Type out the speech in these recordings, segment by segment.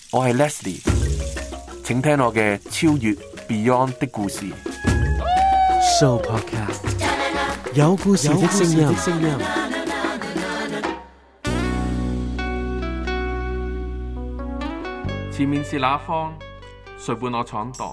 我係 Leslie， 請聽我嘅超越 Beyond 的故事。 Sooo Podcast 有故事的聲音。 前面是那方，誰伴我闖蕩？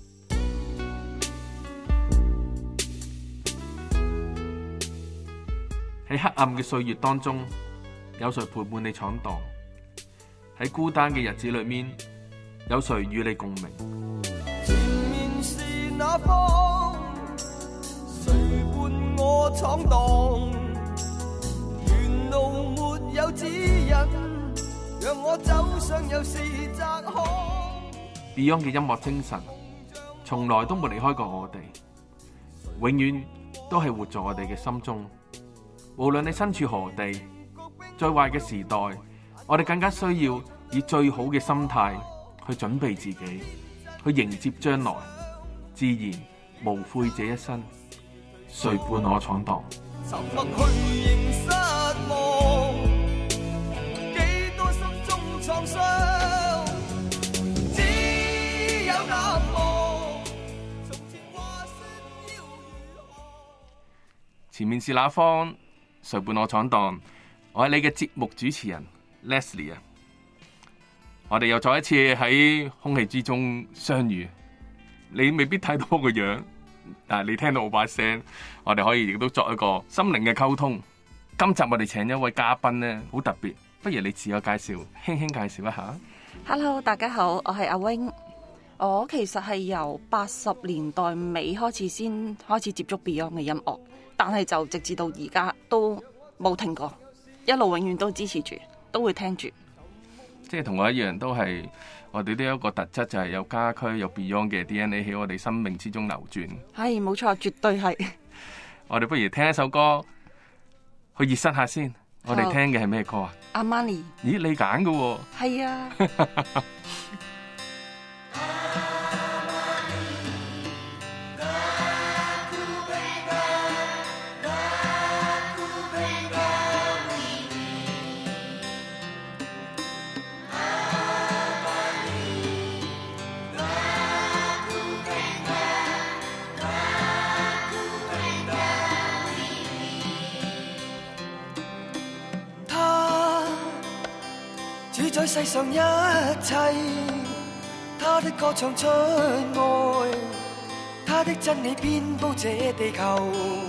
喺黑暗嘅歲月當中，有誰陪伴你闖蕩？喺孤單嘅日子裏面，有誰與你共鳴？ 前面是那方，誰伴我闖蕩？沿路沒有指引，讓我走上又是窄巷。 Beyond 嘅音樂精神，從來都冇離開過我哋，永遠都係活在我哋嘅心中。無論你身處何地，最壞嘅時代，我哋更加需要以最好嘅心態去準備自己，去迎接將來。自然無悔這一生，誰伴我闖蕩？ 沉默去仍失望，幾多心中創傷，只有難忘。從前話說要如何？ 前面是那方，誰伴我闖蕩？我係你嘅節目主持人 Leslie 啊！我哋又再一次喺空氣之中相遇。你未必睇到我個樣，但係你聽到我把聲，我哋可以亦都作一個心靈嘅溝通。今集我哋請一位嘉賓咧，好特別，不如你自我介紹，輕輕介紹一下。 Hello， 大家好，我係阿 Wing。我其實係由80年代尾開始先開始接觸 Beyond 嘅音樂，但係就直至到而家都冇停過，一路永遠都支持住，都會聽住。 即係同我一樣，都係我哋都有一個特質，就係有家駒有 Beyond 嘅 DNA 喺我哋生命之中流轉。 係冇錯，絕對係。 我哋不如聽一首歌去熱身下先。我哋聽嘅係咩歌啊？ 阿瑪尼。 咦，你揀嘅喎？ 係啊。 主宰世上一切，他的歌唱出愛，他的真理遍佈這地球。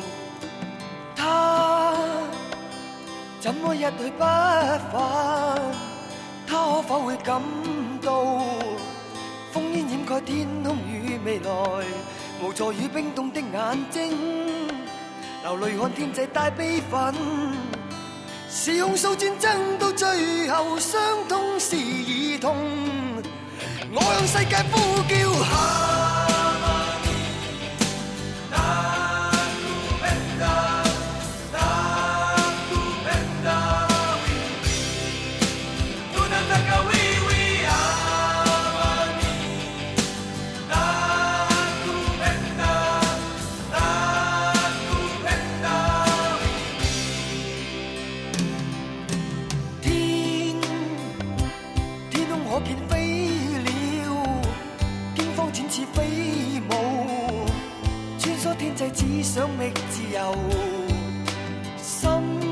他怎麼一去不返？他可否會感到烽煙掩蓋天空與未來，無助與冰凍的眼睛，流淚看天際帶悲憤。是控訴戰爭到最後，傷痛是兒童。我向世界呼叫。只想覓自由，心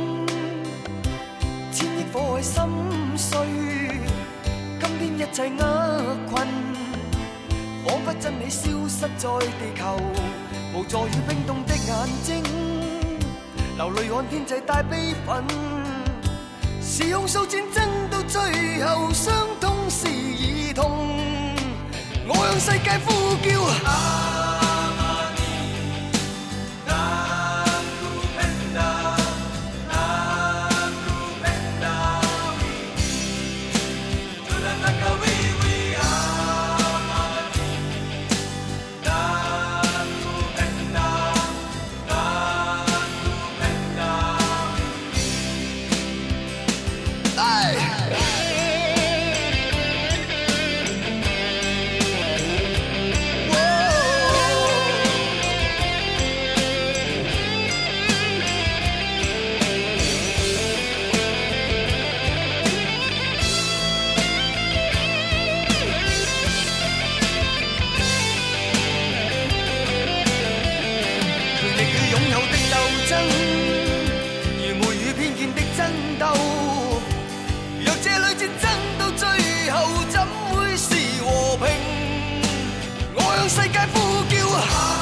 千億火海心碎，今天一切厄困，彷彿真理消失在地球，無助與冰凍的眼睛，流淚看天際帶悲憤，是控訴戰爭到最後，傷痛是兒童，我向世界呼叫。 戰爭到最後怎會是和平？我向世界呼叫。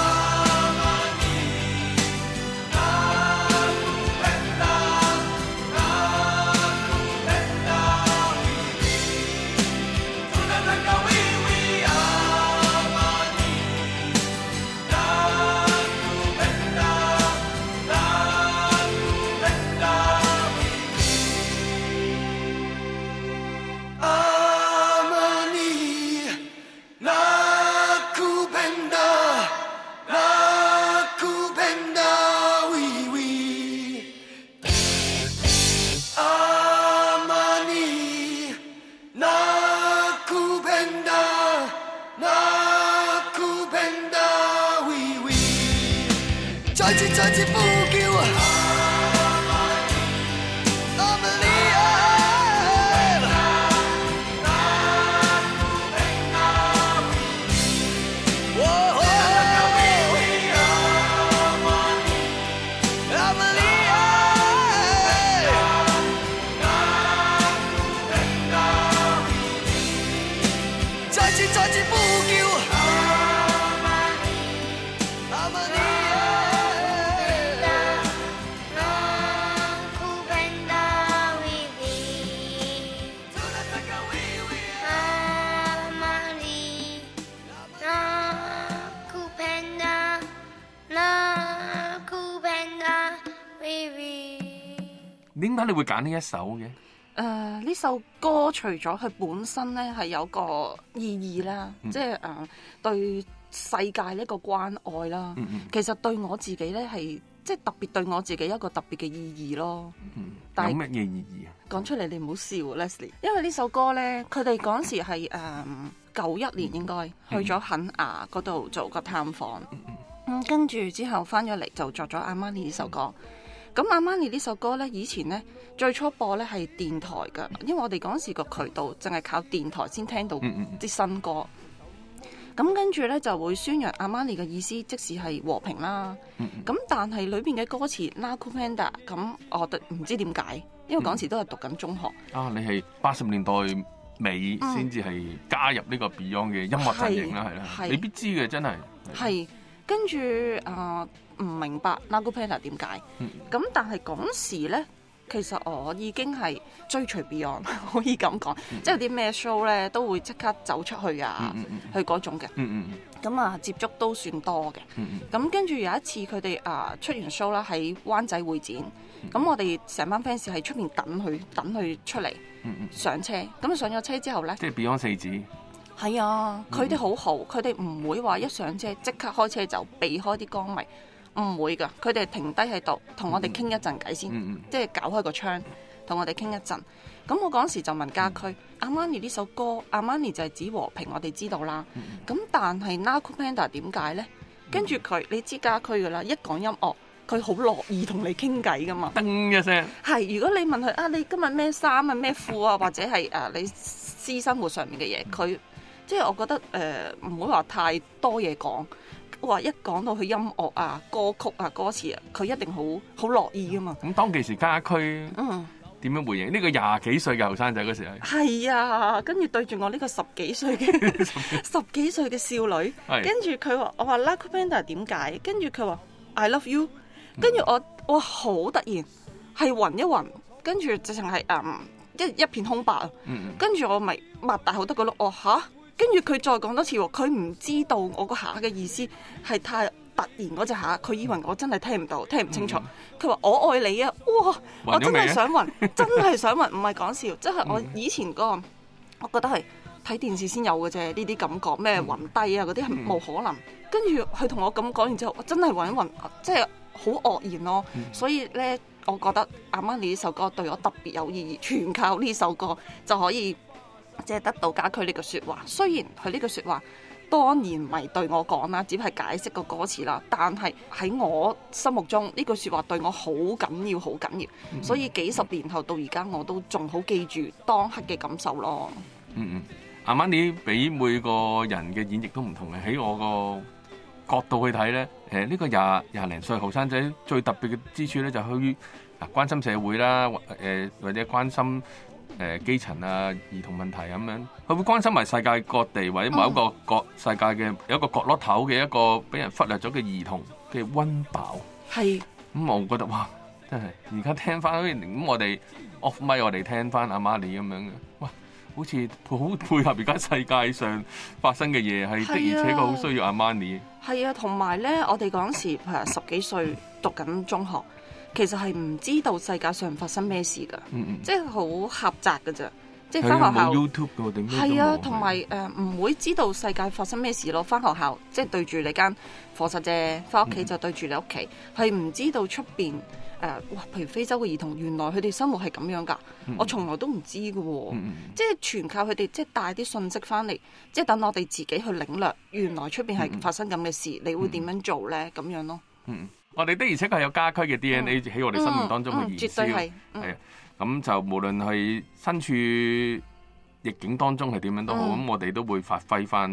再次呼叫阿瑪尼亞，阿瑪尼亞，再次呼叫。 點解你會揀呢一首嘅？ 呢首歌除咗佢本身咧係有個意義啦，即係對世界一個關愛啦。其實對我自己咧係即係特別對我自己一個特別嘅意義咯。但係有乜嘢意義啊？ 講出嚟你唔好笑 Leslie， 因為呢首歌咧，佢哋嗰時係91年應該去咗肯亞嗰度做個探訪，跟住之後翻咗嚟就作咗阿瑪尼呢首歌。咁阿瑪尼呢首歌咧，以前咧最初播咧係電台噶，因為我哋嗰時個渠道淨係靠電台先聽到啲新歌。咁跟住咧就會宣揚阿瑪尼嘅意思，即使係和平啦。咁但係裏邊嘅歌詞 Nakupenda， 咁我唔知點解，因為嗰時都係讀緊中學。 你係80年代尾先至係加入呢個 Beyond 嘅音樂陣營啦，係啦，你必知嘅真係。係跟住唔明白 Nakupenda 點解，咁但係嗰時咧，其實我已經係追隨 Beyond， 可以咁講，即係有啲咩 show 咧都會即刻走出去啊，去嗰種嘅。咁接觸都算多嘅。咁跟住有一次佢哋出完 show 啦，喺灣仔會展，咁我哋成班 fans 喺出邊等佢出嚟上車。咁上咗車之後咧， 即係 Beyond 四子。 係啊，佢哋好好，佢哋唔會話一上車即刻開車就避開啲歌迷，唔會噶。佢哋停低喺度同我哋傾一陣偈先，即係搞開個窗同我哋傾一陣。咁我嗰時就問家駒，阿瑪尼呢首歌，阿瑪尼就係指和平，我哋知道啦。咁但係 Nakupenda 點解呢？跟住佢，你知家駒噶啦，一講音樂，佢好樂意同你傾偈噶嘛。 噔一聲。係， 如果你問佢你今日咩衫啊、咩褲啊，或者係你私生活上面嘅嘢，佢即係我覺得唔會話太多嘢講，話一講到佢音樂啊、歌曲啊、歌詞啊，佢一定好樂意噶嘛。 咁當其時家駒點樣回應？呢個20幾歲嘅後生仔嗰時係啊，跟住對住我呢個10幾歲嘅10幾歲嘅少女，跟住佢話我話 Nakupenda 點解？跟住佢話 I love you， 跟住我好突然係暈一暈，跟住直情係一片空白啊！跟住我咪擘大好多個碌，嚇！跟住佢再講多次喎，佢唔知道我個下嘅意思係太突然嗰隻下，佢以為我真係聽唔到、聽唔清楚。佢話我愛你啊！哇！我真係想暈，真係想暈，唔係講笑，即係我以前我覺得係睇電視先有嘅啫，呢啲感覺咩暈低啊嗰啲係冇可能。跟住佢同我咁講完之後，我真係暈一暈，即係好愕然咯。所以咧，我覺得阿瑪尼呢首歌對我特別有意義，全靠呢首歌就可以。即係得到家駒呢句説話，雖然佢呢句説話當然唔係對我講啦，只係解釋個歌詞啦。但係喺我心目中呢句説話對我好緊要，好緊要。所以幾十年後到而家，我都仲好記住當刻嘅感受咯。 阿瑪尼俾每個人嘅演繹都唔同嘅。喺我個角度去睇咧，呢個廿零歲後生仔最特別嘅之處咧，就係去關心社會啦，或者關心基層啊、兒童問題咁樣，佢會關心埋世界各地或者某一個世界嘅有一個角落頭嘅一個俾人忽略咗嘅兒童嘅溫飽。 係我覺得哇，真係而家聽翻咁我哋 off mic 我哋聽翻阿瑪尼咁樣嘅，哇！好似好配合而家世界上發生嘅嘢，係的而且確好需要阿瑪尼。 係啊，同埋咧，我哋嗰陣時10幾歲讀緊中學，其實係唔知道世界上發生咩事㗎，即係好狹窄㗎咋。即係翻學校冇 YouTube 嘅定咩都冇。 係啊，同埋唔會知道世界發生咩事咯。翻學校即係對住你間課室啫，翻屋企就對住你屋企，係唔知道出邊哇！譬如非洲嘅兒童，原來佢哋生活係咁樣㗎，我從來都唔知㗎喎。即係全靠佢哋即係帶啲信息翻嚟，即係等我哋自己去領略，原來出邊係發生咁嘅事，你會點樣做咧？咁樣咯。 我哋的而且確係有家駒嘅 DNA 喺我哋生命當中嘅燃燒， 絕對係。 係啊，咁就無論係身處逆境當中係點樣都好，咁我哋都會發揮翻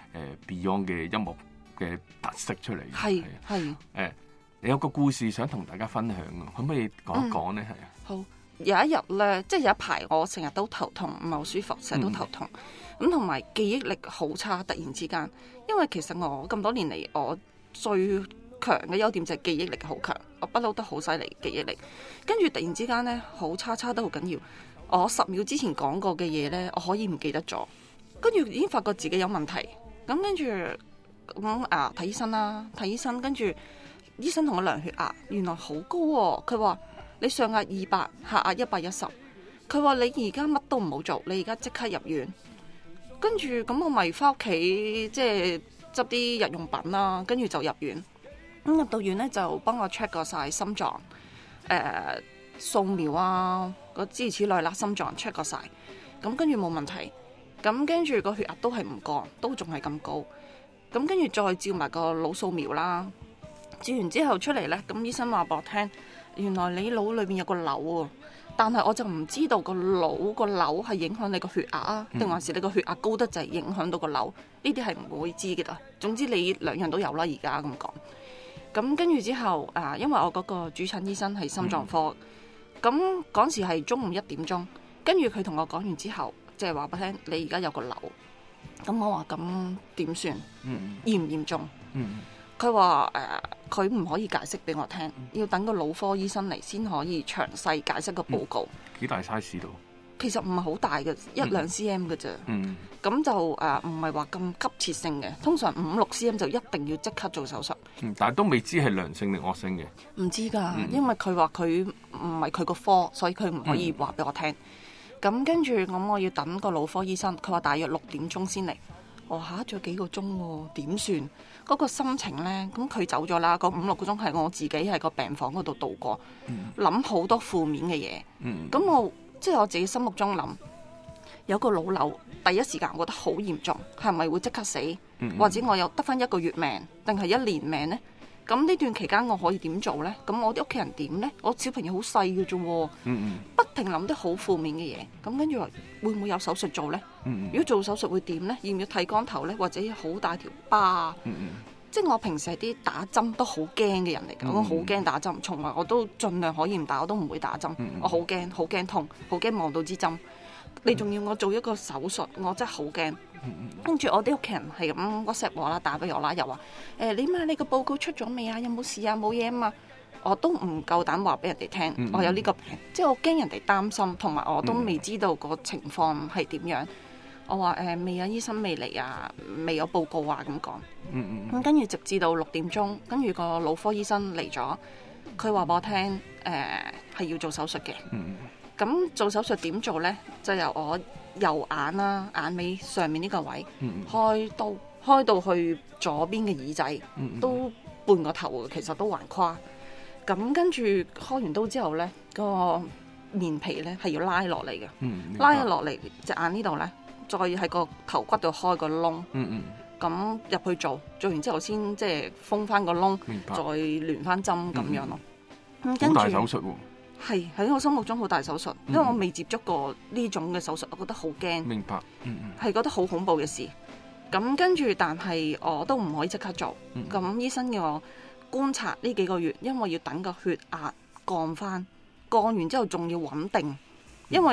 Beyond 嘅音樂嘅特色出嚟。 係你有個故事想同大家分享啊，可唔可以講一講咧？係啊。 好，有一日咧，即係有一排我成日都頭痛，唔係好舒服，成日都頭痛。咁同埋記憶力好差，突然之間，因為其實我咁多年嚟，我最強嘅優點就係記憶力好強，我不嬲都好犀利記憶力。跟住突然之間咧，好差得好緊要。我10秒之前講過嘅嘢咧，我可以唔記得咗，跟住已經發覺自己有問題。咁跟住睇醫生啦，睇醫生，跟住醫生同我量血壓，原來好高喎。佢話你上壓200，下壓110。佢話你而家乜都唔好做，你而家即刻入院。跟住咁我咪翻屋企，即係執啲日用品啦，跟住就入院。咁入到院咧就幫我 check 過晒心臟，掃描啊，諸如此類啦，心臟 check 過晒。咁跟住冇問題。咁跟住個血壓都係唔降，都仲係咁高。咁跟住再照埋個腦掃描啦。照完之後出嚟呢，咁醫生話俾我聽，原來你腦裏面有個瘤喎，但係我就唔知道個腦個瘤係影響你個血壓啊，定還是你個血壓高得滯影響到個瘤？呢啲係唔會知嘅啦。總之你兩樣都有啦，而家咁講。咁跟住之後因為我嗰個主診醫生係心臟科，咁嗰時係中午1點鐘，跟住佢同我講完之後，即係話俾我聽，你而家有個瘤。咁我話咁點算？嚴唔嚴重？佢話佢唔可以解釋俾我聽，要等個腦科醫生嚟先可以詳細解釋個報告。 幾大 size 度？ 其實唔係好大嘅，1-2 cm 嘅啫。咁就唔係話咁急切性嘅，通常5-6 cm 就一定要即刻做手術。 但係都未知係良性定惡性嘅。 唔知㗎，因為佢話佢唔係佢個科，所以佢唔可以話俾我聽。咁跟住我要等個腦科醫生，佢話大約6點鐘先嚟。我仲有幾個鐘喎，點算？嗰個心情呢，咁佢走咗啦，個5-6個鐘係我自己喺個病房嗰度度過，諗好多負面嘅嘢。咁我即係我自己心目中諗，有個腦瘤，第一時間我覺得好嚴重，係咪會即刻死？或者我有得返1個月命，定係1年命呢？咁呢段期間我可以點做呢？咁我啲屋企人點呢？我小朋友好細嘅啫喎，不停諗得好負面嘅嘢。咁跟住話會唔會有手術做呢？如果做手術會點呢？要唔要剃光頭呢？或者好大條疤？即係我平時係啲打針都好驚嘅人嚟㗎，我好驚打針，從來我都盡量可以唔打，我都唔會打針。我好驚，好驚痛，好驚望到支針。你仲要我做一個手術，我真係好驚。跟住我啲屋企人係咁 WhatsApp 我啦，打俾我啦，又話你個報告出咗未啊？有冇事啊？冇嘢啊嘛。我都唔夠膽話俾人哋聽，我有呢個病，即係我驚人哋擔心，同埋我都未知道個情況係點樣。我話未啊，醫生未嚟啊，未有報告啊咁講。咁跟住直至到6點鐘，跟住個腦科醫生嚟咗，佢話俾我聽係要做手術嘅。咁做手術點做呢？就由我右眼啦，眼尾上面呢個位開到去左邊嘅耳仔，都半個頭，其實都橫跨。咁跟住開完刀之後呢，個面皮呢係要拉落嚟嘅，拉落嚟隻眼呢度呢，再喺個頭骨度開個窿，咁入去做完之後先即係封翻個窿，再連翻針咁樣咯。好大手術喎！ 係喺我心目中好大手術，因為我未接觸過呢種嘅手術，我覺得好驚。 明白， 係覺得好恐怖嘅事。咁跟住，但係我都唔可以即刻做。咁醫生叫我觀察呢幾個月，因為要等個血壓降翻，降完之後仲要穩定，因為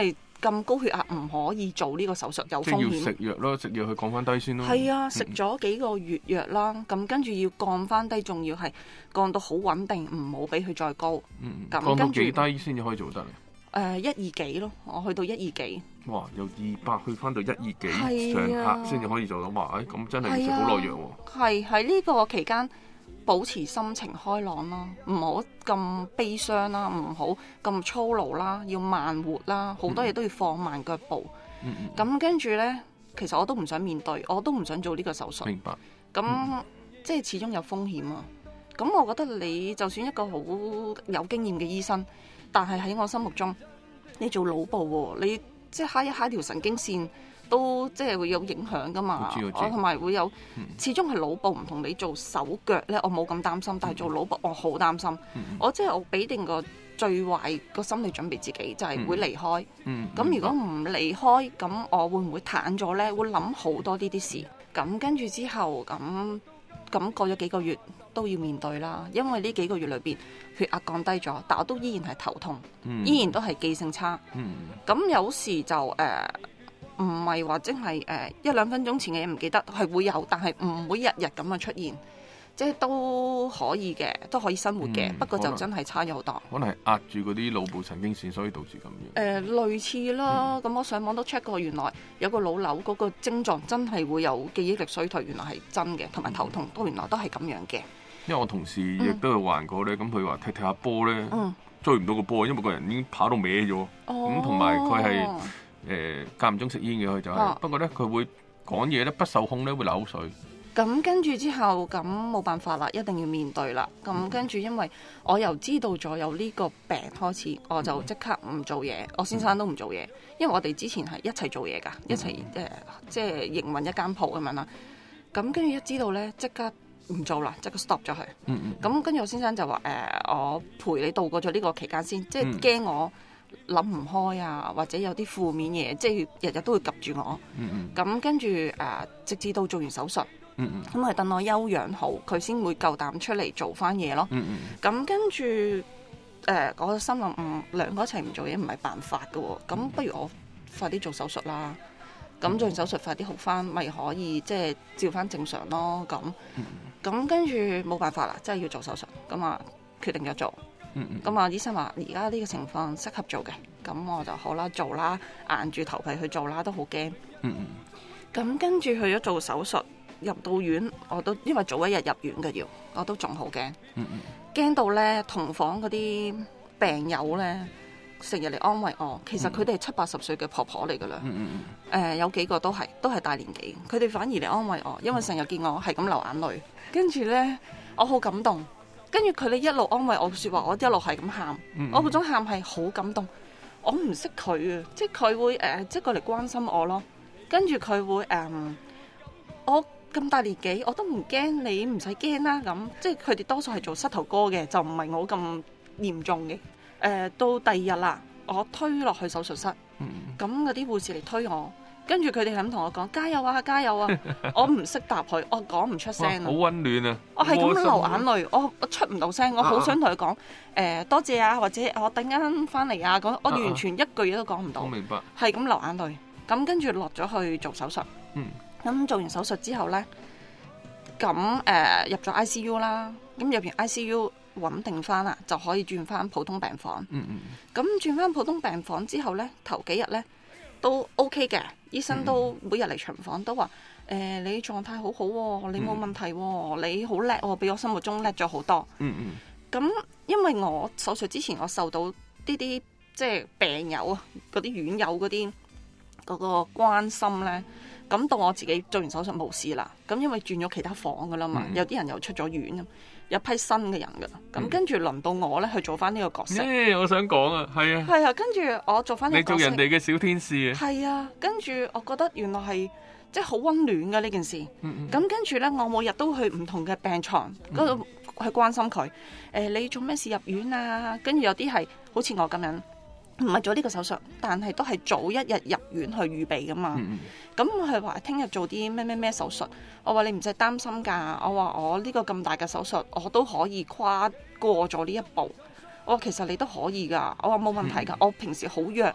咁高血壓唔可以做呢個手術，有風即係要險。 食藥咯，食藥去降翻低先咯。 係啊，食咗幾個月藥啦，咁跟住要降翻低，仲要係降到好穩定，唔好俾佢再高。咁降到跟住幾低先至可以做得咧？ 120幾咯，我去到120幾。 哇！由200去翻到120幾係啊上客先至可以做到。哇！咁真係要食好耐藥喎。 係喺呢個期間保持心情開朗啦，唔好咁悲傷啦，唔好咁粗魯啦，要慢活啦，好多嘢都要放慢腳步。咁跟住呢，其實我都唔想面對，我都唔想做呢個手術。 明白。 咁即係始終有風險啊。咁我覺得你就算一個好有經驗嘅醫生，但係喺我心目中，你做腦部喎，你即係揩一揩條神經線，都即係會有影響噶嘛。 我知我同埋會有，始終係腦部唔同你做手腳咧，我冇咁擔心，但係做腦部我好擔心。我即係我俾定個最壞個心理準備自己，就係會離開。咁如果唔離開，咁我會唔會癱咗咧？會諗好多呢啲事。咁跟住之後，咁過咗幾個月都要面對啦。因為呢幾個月裏邊血壓降低咗，但我都依然係頭痛，依然都係記性差。咁有時就唔係話真係1-2分鐘前嘅嘢唔記得，係會有，但係唔會日日咁樣出現，即係都可以嘅，都可以生活嘅。不過就真係差咗好多。 可能係壓住嗰啲腦部神經線，所以導致咁樣。 類似啦。咁我上網都 check 過，原來有個腦瘤嗰個症狀真係會有記憶力衰退，原來係真嘅，同埋頭痛都原來都係咁樣嘅。 因為我同事亦都有患過咧，咁佢話踢下波咧，追唔到個波，因為個人已經跑到歪咗。咁同埋佢係間唔中食煙嘅，佢就係。不過咧，佢會講嘢咧不受控咧，會流口水。 咁跟住之後，咁冇辦法啦，一定要面對啦。咁跟住，因為我又知道咗有呢個病開始，我就即刻唔做嘢。我先生都唔做嘢，因為我哋之前係一齊做嘢㗎，一齊即係營運一間鋪咁樣啦。咁跟住一知道咧，即刻唔做啦，即刻 stop 咗佢。咁跟住我先生就話我陪你度過咗呢個期間先，即係驚我諗唔開啊，或者有啲負面嘢，即係日日都會及住我。咁跟住直至到做完手術。咁係等我休養好，佢先會夠膽出嚟做翻嘢咯。咁跟住我心諗兩個一齊唔做嘢唔係辦法㗎喎。咁不如我快啲做手術啦。咁做完手術快啲好翻，咪可以即係照翻正常咯。咁跟住冇辦法啦，真係要做手術。咁啊決定咗做。咁啊醫生話而家呢個情況適合做嘅，咁我就好啦，做啦，硬住頭皮去做啦，都好驚。咁跟住去咗做手術。入到院，我都因為早一日入院嘅要，我都仲好驚，驚到咧同房嗰啲病友咧成日嚟安慰我。其實佢哋係70-80歲嘅婆婆嚟噶啦，有幾個都係大年紀，佢哋反而嚟安慰我，因為成日見我係咁流眼淚，跟住咧我好感動，跟住佢哋一路安慰我嘅説話，我一路係咁喊，我嗰種喊係好感動。我唔識佢啊，即係佢會即係過嚟關心我咯，跟住佢會我。咁大年紀，我都唔驚，你唔使驚啦。咁即係佢哋多數係做膝頭哥嘅，就唔係我咁嚴重嘅。到第二日啦，我推落去手術室，咁嗰啲護士嚟推我，跟住佢哋係咁同我講加油啊，加油啊！我唔識答佢，我講唔出聲。 好溫暖啊！ 我係咁流眼淚，我出唔到聲，我好想同佢講多謝啊，或者我突然間翻嚟啊，我完全一句嘢都講唔到。 我明白。係咁流眼淚，咁跟住落咗去做手術。咁做完手術之後呢，咁入咗 ICU 啦，咁入完 ICU 穩定翻啦，就可以轉翻普通病房。咁轉翻普通病房之後呢，頭幾日呢都 OK 嘅，醫生都每日嚟巡房都話你狀態好好喎，你冇問題喎，你好叻喎，比我心目中叻咗好多。咁因為我手術之前我受到呢啲即係病友啊，嗰啲院友嗰個關心呢。咁到我自己做完手術冇事啦，咁因為轉咗其他房噶啦嘛，有啲人又出咗院，有批新嘅人噶，咁跟住輪到我咧去做翻呢個角色。 我想講啊，係啊， 係啊，跟住我做翻呢個角色， 你做人哋嘅小天使啊， 係啊，跟住我覺得原來係即係好溫暖噶呢件事。咁跟住咧，我每日都去唔同嘅病床嗰度去關心佢。你做咩事入院啊？跟住有啲係好似我咁樣。唔係做呢個手術，但係都係早一日入院去預備噶嘛。咁佢話聽日做啲咩手術，我話你唔使擔心㗎。我話我呢個咁大嘅手術，我都可以跨過咗呢一步。我話其實你都可以㗎。我話冇問題㗎。我平時好弱，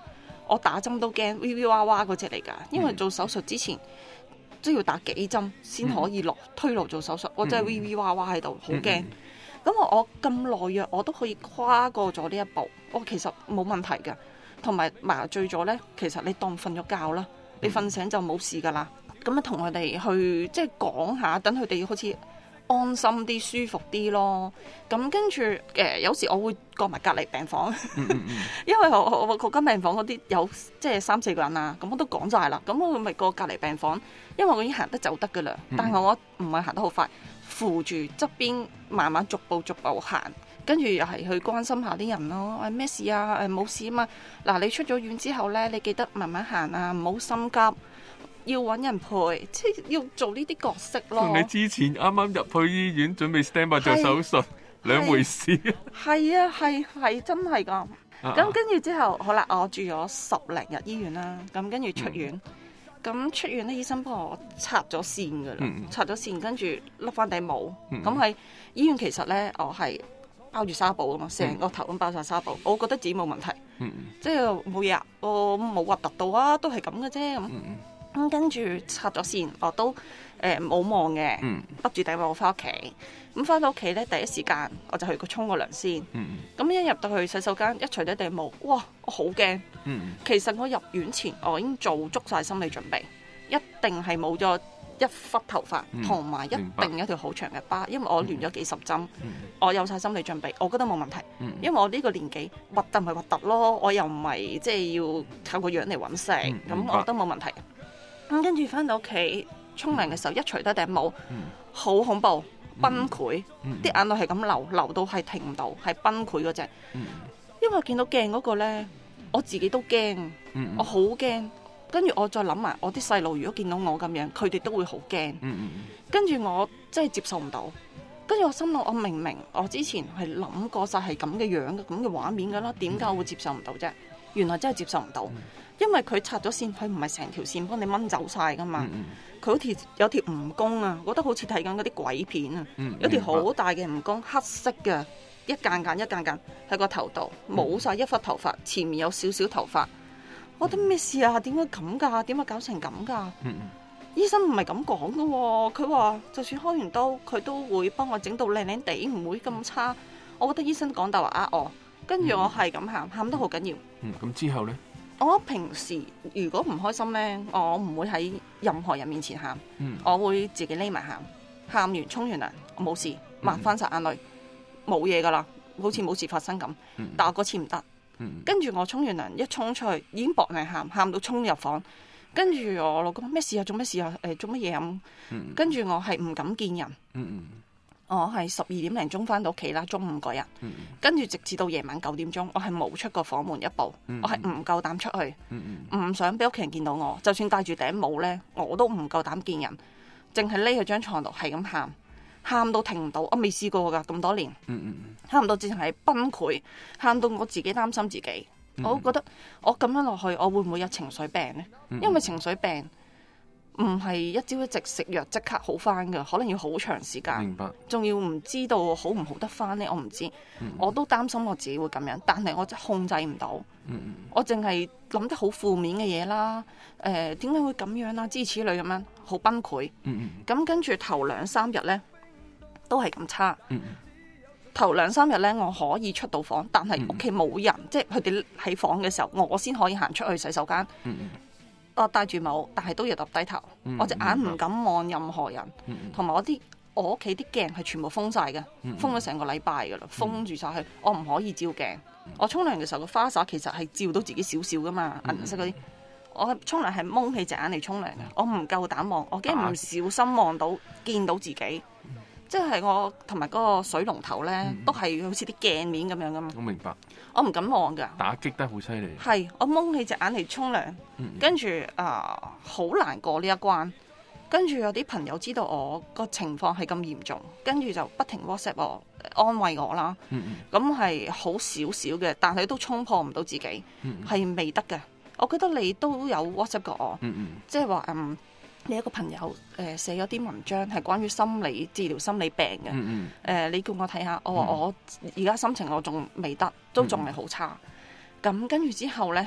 我打針都驚 V V 哇哇嗰隻嚟㗎，因為做手術之前都要打幾針先可以推路做手術，我真係 V V 哇哇喺度，好驚。咁我咁懦弱，我都可以跨過咗呢一步，我其實冇問題㗎。同埋麻醉咗咧，其實你當瞓咗覺啦，你瞓醒就冇事㗎啦。咁啊，同佢哋去即係講下，等佢哋好似安心啲、舒服啲咯。咁跟住有時我會過埋隔離病房，因為我嗰間病房嗰啲有即係3-4個人啊，咁我都講晒啦。咁我咪過隔離病房，因為我已經行得走得㗎啦，但係我唔係行得好快，扶住側邊慢慢逐步行。跟住又係去關心下啲人咯，咩事啊？冇事啊嘛。嗱，你出咗院之後咧，你記得慢慢行啊，唔好心急，要揾人陪，即係要做呢啲角色咯。 同你之前啱啱入去醫院準備 stand by 做手術兩回事。 係啊，係真係㗎。咁跟住之後，好啦，我住咗10零日醫院啦。咁跟住出院，咁出院咧，醫生幫我拆咗線㗎啦，拆咗線，跟住笠翻頂帽。咁喺醫院其實咧，我係包住紗布啊嘛，成個頭咁包晒紗布，我覺得自己冇問題，即係冇嘢啊，我冇核突到啊，都係咁嘅啫咁。跟住拆咗線，我都冇望嘅，笠住頂帽翻屋企。咁翻到屋企咧，第一時間我就去沖個涼先。咁一入到去洗手間，一除低頂帽，哇！我好驚。其實我入院前我已經做足晒心理準備，一定係冇咗1忽頭髮，同埋一定有一條好長嘅疤，因為我亂咗幾十針，我有晒心理準備，我覺得冇問題。因為我呢個年紀核突咪核突咯，我又唔係即係要靠個樣嚟揾食，咁我覺得冇問題。咁跟住翻到屋企沖涼嘅時候，一除低頂帽，好恐怖，崩潰，啲眼淚係咁流到係停唔到，係崩潰嗰隻。因為我見到鏡嗰個呢，我自己都驚，我好驚。跟住我再諗埋，我啲細路如果見到我咁樣，佢哋都會好驚。跟住我真係接受唔到。跟住我心諗，我明明我之前係諗過晒係咁嘅樣嘅，咁嘅畫面㗎啦，點解我會接受唔到啫？原來真係接受唔到，因為佢拆咗線，佢唔係成條線幫你掹走晒㗎嘛。佢好似有條蜈蚣啊，覺得好似睇緊嗰啲鬼片啊，有條好大嘅蜈蚣，黑色嘅，一間間喺個頭度，冇晒1忽頭髮，前面有少少頭髮。我覺得咩事啊？點解咁㗎？點解搞成咁㗎？醫生唔係咁講㗎喎，佢話就算開完刀，佢都會幫我整到靚靚地，唔會咁差。我覺得醫生講大話呃我，跟住我係咁喊得好緊要。 咁之後呢？ 我平時如果唔開心呢，我唔會喺任何人面前喊，我會自己匿埋喊。喊完沖完涼，我冇事，抹翻晒眼淚，冇嘢㗎啦，好似冇事發生咁。但我嗰次唔得。跟住我沖完涼一衝出去，已經搏命喊到衝入房。跟住我老公咩事啊？做咩事啊？做乜嘢咁？跟住我係唔敢見人。我係12點零鐘翻到屋企啦，中午嗰日。跟住直至到夜晚9點鐘，我係冇出過房門一步。我係唔夠膽出去，唔想俾屋企人見到我。就算戴住頂帽呢，我都唔夠膽見人，淨係匿喺張床度係咁喊。喊到停唔到，我未試過㗎咁多年，喊到淨係崩潰，喊到我自己擔心自己，我覺得我咁樣落去，我會唔會有情緒病呢？因為情緒病唔係一朝一夕食藥即刻好翻㗎，可能要好長時間。明白。仲要唔知道好唔好得翻呢？我唔知，我都擔心我自己會咁樣，但係我真係控制唔到。我淨係諗得好負面嘅嘢啦，點解會咁樣啊？諸如此類咁樣，好崩潰。咁跟住頭2-3日呢，都係咁差。頭2-3日咧，我可以出到房，但係屋企冇人，即係佢哋喺房嘅時候，我先可以行出去洗手間。我戴住帽，但係都要耷低頭。我隻眼唔敢望任何人，同埋我屋企啲鏡係全部封晒嘅，封咗成個禮拜噶啦，封住晒佢，我唔可以照鏡。我沖涼嘅時候個花灑其實係照到自己少少噶嘛，銀色嗰啲。我沖涼係蒙起隻眼嚟沖涼嘅，我唔夠膽望，我驚唔小心望到見到自己。即係我同埋嗰個水龍頭咧，都係好似啲鏡面咁樣噶嘛。我明白。我唔敢望㗎。打擊得好犀利。係，我蒙起隻眼嚟沖涼，跟住好難過呢一關。跟住有啲朋友知道我個情況係咁嚴重，跟住就不停 WhatsApp 我安慰我啦。咁係好少少嘅，但係都衝破唔到自己，係未得嘅。我覺得你都有 WhatsApp 過我，即係話你一個朋友寫咗啲文章係關於心理治療心理病嘅，你叫我睇下，我話我而家心情我仲未得，都仲係好差。咁跟住之後呢，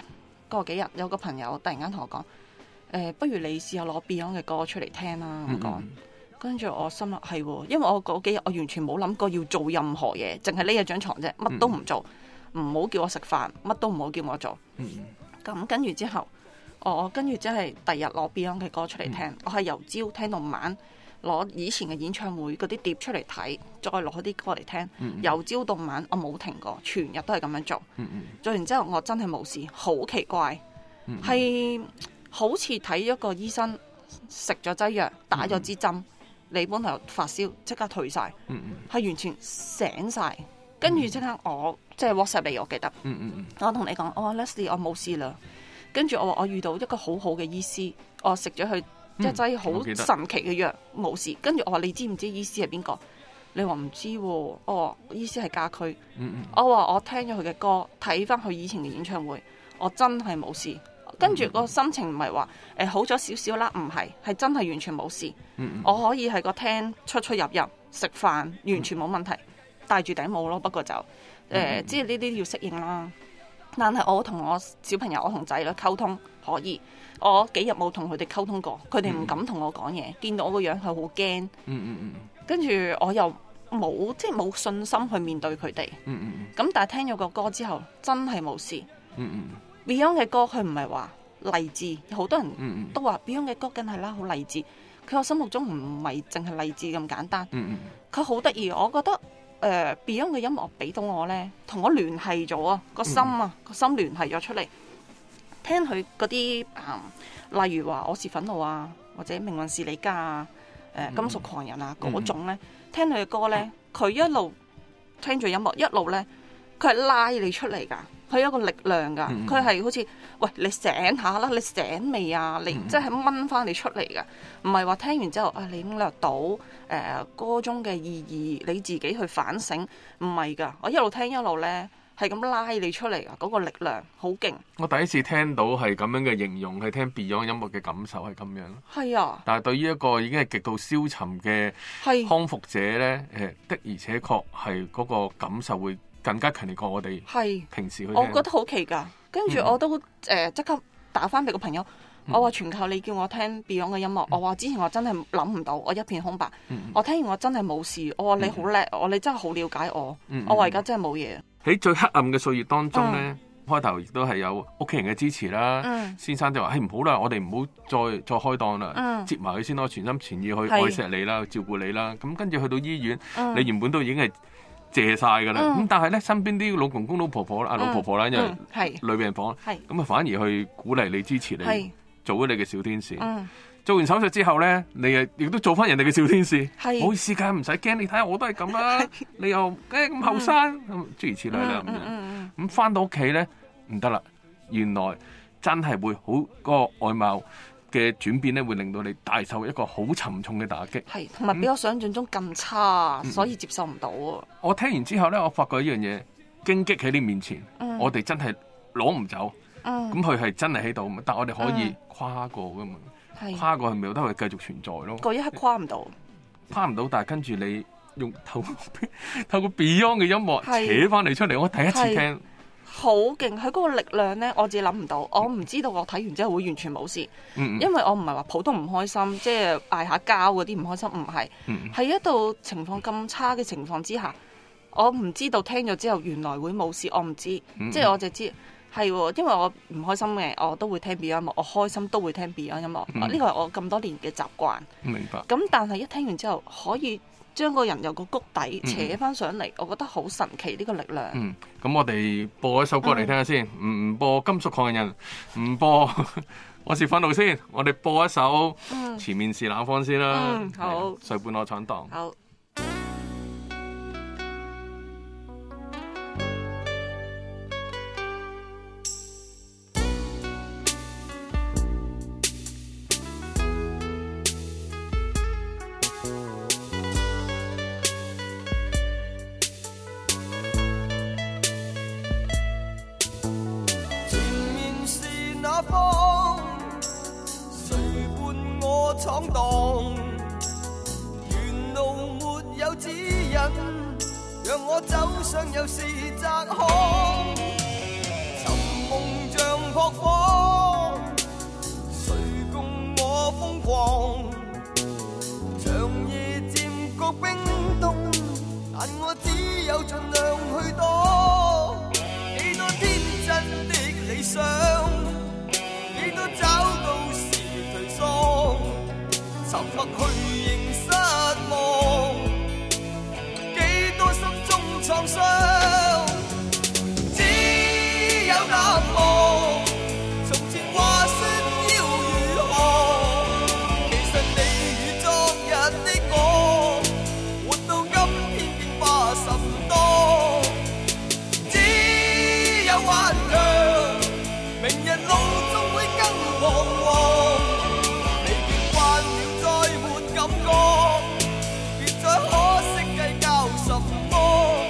過幾日有個朋友突然間同我講，不如你試下攞 Beyond 嘅歌出嚟聽啦咁講。跟住我心諗係喎，因為我嗰幾日我完全冇諗過要做任何嘢，淨係匿喺張床啫，乜都唔做，唔好叫我食飯，乜都唔好叫我做。咁跟住之後，我跟住即係第日攞 Beyond 嘅歌出嚟聽，我係由朝聽到晚，攞以前嘅演唱會嗰啲碟出嚟睇，再攞啲歌嚟聽，由朝到晚我冇停過，全日都係咁樣做。做完之後我真係冇事，好奇怪，係好似睇咗個醫生，食咗劑藥，打咗支針。你本來發燒即刻退晒，係完全醒晒。跟住即刻我即係 WhatsApp 你，我記得，我同你講，我話 Leslie 我冇事啦。跟住我話我遇到一個好好嘅醫師，我食咗佢一劑好神奇嘅藥，冇事。跟住我話你知唔知醫師係邊個？你話唔知喎。我話醫師係家駒。我話我聽咗佢嘅歌，睇翻佢以前嘅演唱會，我真係冇事。跟住個心情唔係話好咗少少啦，唔係，係真係完全冇事。我可以喺個廳出入食飯，完全冇問題。戴住頂帽咯，不過就即係呢啲要適應啦。但係我同我小朋友，我同仔女溝通可以。我幾日冇同佢哋溝通過，佢哋唔敢同我講嘢，見到我個樣係好驚。跟住我又冇即係冇信心去面對佢哋。咁但係聽咗個歌之後，真係冇事。Beyond 嘅歌佢唔係話勵志，好多人都話 Beyond 嘅歌梗係啦，好勵志。佢我心目中唔係淨係勵志咁簡單，佢好得意。我覺得Beyond 嘅音樂俾到我呢，同我聯繫咗啊，個心啊，個心聯繫咗出嚟。聽佢嗰啲例如話我是憤怒啊，或者命運是你家啊，金屬狂人啊嗰種呢，聽佢嘅歌呢，佢一路聽住音樂，一路呢，佢係拉你出嚟㗎。佢有一個力量㗎，佢係好似喂你醒下啦，你醒未啊？你即係掹翻你出嚟㗎，唔係話聽完之後啊，你領略到歌中嘅意義，你自己去反省，唔係㗎。我一路聽一路咧，係咁拉你出嚟㗎，嗰個力量好勁。我第一次聽到係咁樣嘅形容，係聽 Beyond 音樂嘅感受係咁樣。 係啊， 但係對於一個已經係極度消沉嘅康復者咧，的而且確係嗰個感受會更加強烈過我哋平時去聽。 我覺得好奇㗎，跟住我都即刻打翻俾個朋友，我話全靠你叫我聽 Beyond 嘅音樂。我話之前我真係諗唔到，我一片空白。我聽完我真係冇事。我話你好叻，我你真係好了解我。我話而家真係冇嘢。 喺最黑暗嘅歲月當中咧，開頭亦都係有屋企人嘅支持啦。先生就話：唔好啦，我哋唔好再開檔啦，接埋佢先咯，全心全意去愛錫你啦，照顧你啦。咁跟住去到醫院，你原本都已經係謝晒噶啦，咁但係咧身邊啲老公公、老婆婆啦，老婆婆啦，因為女病房，咁啊反而去鼓勵你、支持你，做咗你嘅小天使。做完手術之後咧，你亦都做翻人哋嘅小天使。唔好意思㗎，唔使驚，你睇下我都係咁啦，你又咁後生，諸如此類啦。咁翻到屋企咧唔得啦，原來真係會好嗰個外貌嘅轉變咧，會令到你大受一個好沉重嘅打擊， 係同埋比我想象中咁差，所以接受唔到啊！ 我聽完之後咧，我發覺一樣嘢，荊棘喺你面前，我哋真係攞唔走，咁佢係真係喺度，但我哋可以跨過噶嘛，跨過係咪都係繼續存在咯？ 嗰一刻跨唔到， 但係跟住你用透過 Beyond 嘅音樂扯翻你出嚟，我第一次聽。 好勁！佢嗰個力量呢，我自己諗唔到。我唔知道我睇完之後會完全冇事，因為我唔係話普通唔開心，即係嗌下交嗰啲唔開心，唔係。喺一度情況咁差嘅情況之下，我唔知道聽咗之後原來會冇事，我唔知。即係我就知係，因為我唔開心嘅，我都會聽 Beyond 音樂；我開心都會聽 Beyond 音樂。呢個係我咁多年嘅習慣。 明白。 咁但係一聽完之後可以將個人由個谷底扯翻上嚟，我覺得好神奇呢個力量。 咁我哋播一首歌嚟聽下先，唔播金屬狂人，唔播我是憤怒先，我哋播一首前面是冷風先啦。 好， 誰伴我闖蕩。 好。 闖蕩，沿路沒有指引，讓我走上又是窄巷，尋夢像撲火，誰共我瘋狂？長夜漸覺冰凍，但我只有盡量去躲。幾多天真的理想，幾多找到時頹喪，沉默去認失望，幾多心中創傷，只有淡忘。從前話說要如何，其實你與昨日的我，活到今天變化甚多，只有頑強，明日路終會更彷徨，疲倦慣了再沒感覺，別再可惜計較什麼。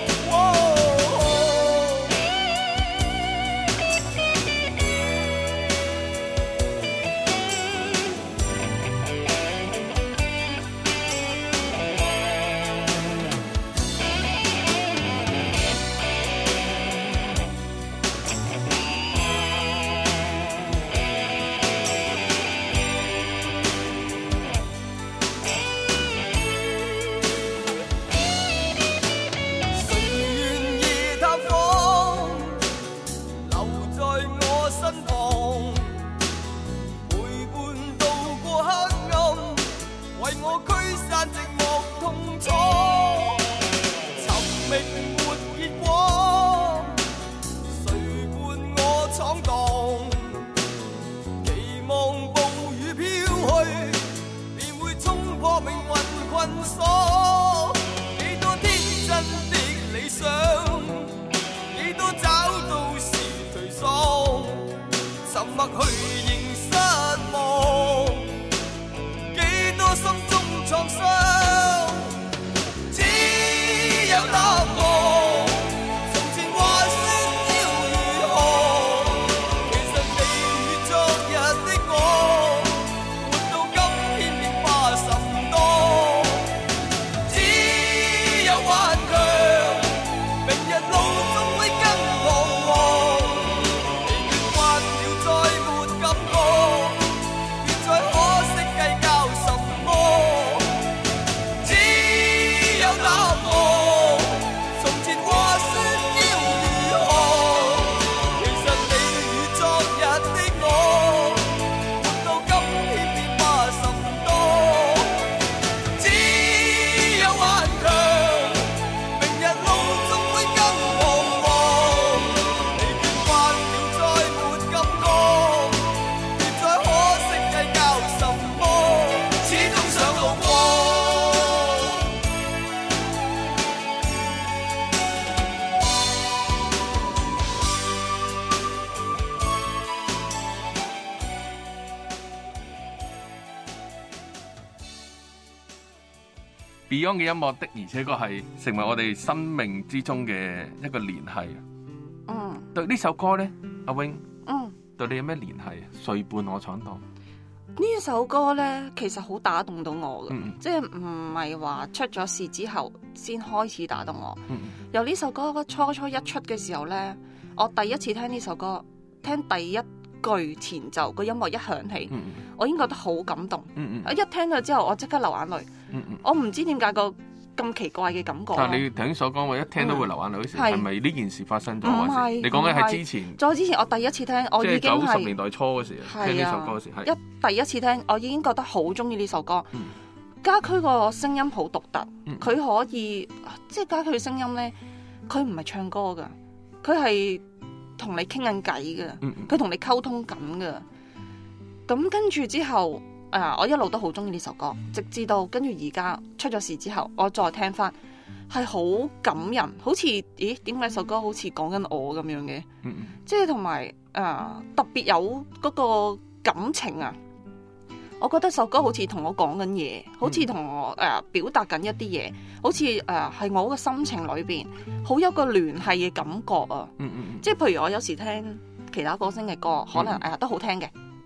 Beyond 嘅音樂的，而且確係成為我哋生命之中嘅一個聯繫。 嗯， 對呢首歌咧，阿 Wing， 嗯， 對你有咩聯繫啊？誰伴我闖蕩？ 呢一首歌咧，其實好打動到我嘅， 嗯即係唔係話出咗事之後先開始打動我。 嗯由呢首歌初初一出嘅時候咧，我第一次聽呢首歌，聽第一句前奏個音樂一響起， 嗯我已經覺得好感動。 嗯一聽咗之後，我即刻流眼淚。我唔知點解個咁奇怪嘅感覺。 但係你頭先所講話一聽都會流眼淚嗰時，係咪呢件事發生咗？ 唔係， 你講緊係之前， 再之前我第一次聽，我已經係 90年代初嗰時聽呢首歌嗰時，係第一次聽，我已經覺得好中意呢首歌。家駒個聲音好獨特，佢可以即係家駒嘅聲音咧，佢唔係唱歌噶，佢係同你傾緊偈嘅，佢同你溝通緊嘅。咁跟住之後。我一路都好中意呢首歌，直至到跟住而家出咗事之後，我再聽翻，係好感人，好似咦點解首歌好似講緊我咁樣嘅？即係同埋特別有嗰個感情啊！我覺得首歌好似同我講緊嘢，好似同我表達緊一啲嘢，好似係我個心情裏邊好有個聯繫嘅感覺啊！即係譬如我有時聽其他歌星嘅歌，可能都好聽嘅。